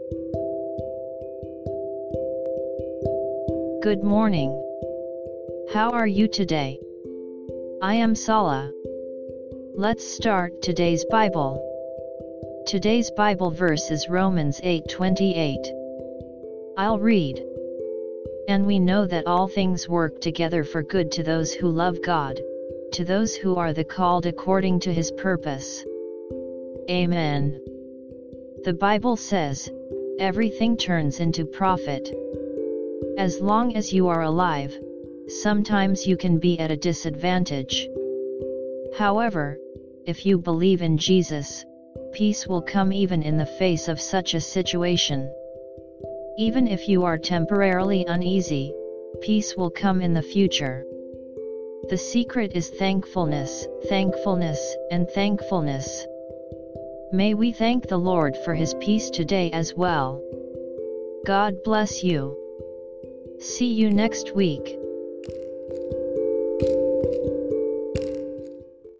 Good morning. How are you today? I am Sala. Let's start today's Bible. Today's Bible verse is Romans 8:28. I'll read. And we know that all things work together for good to those who love God, to those who are the called according to His purpose. Amen. The Bible says, everything turns into profit. As long as you are alive, sometimes you can be at a disadvantage. However, if you believe in Jesus, peace will come even in the face of such a situation. Even if you are temporarily uneasy, peace will come in the future. The secret is thankfulness, thankfulness, and thankfulness. May we thank the Lord for His peace today as well. God bless you. See you next week.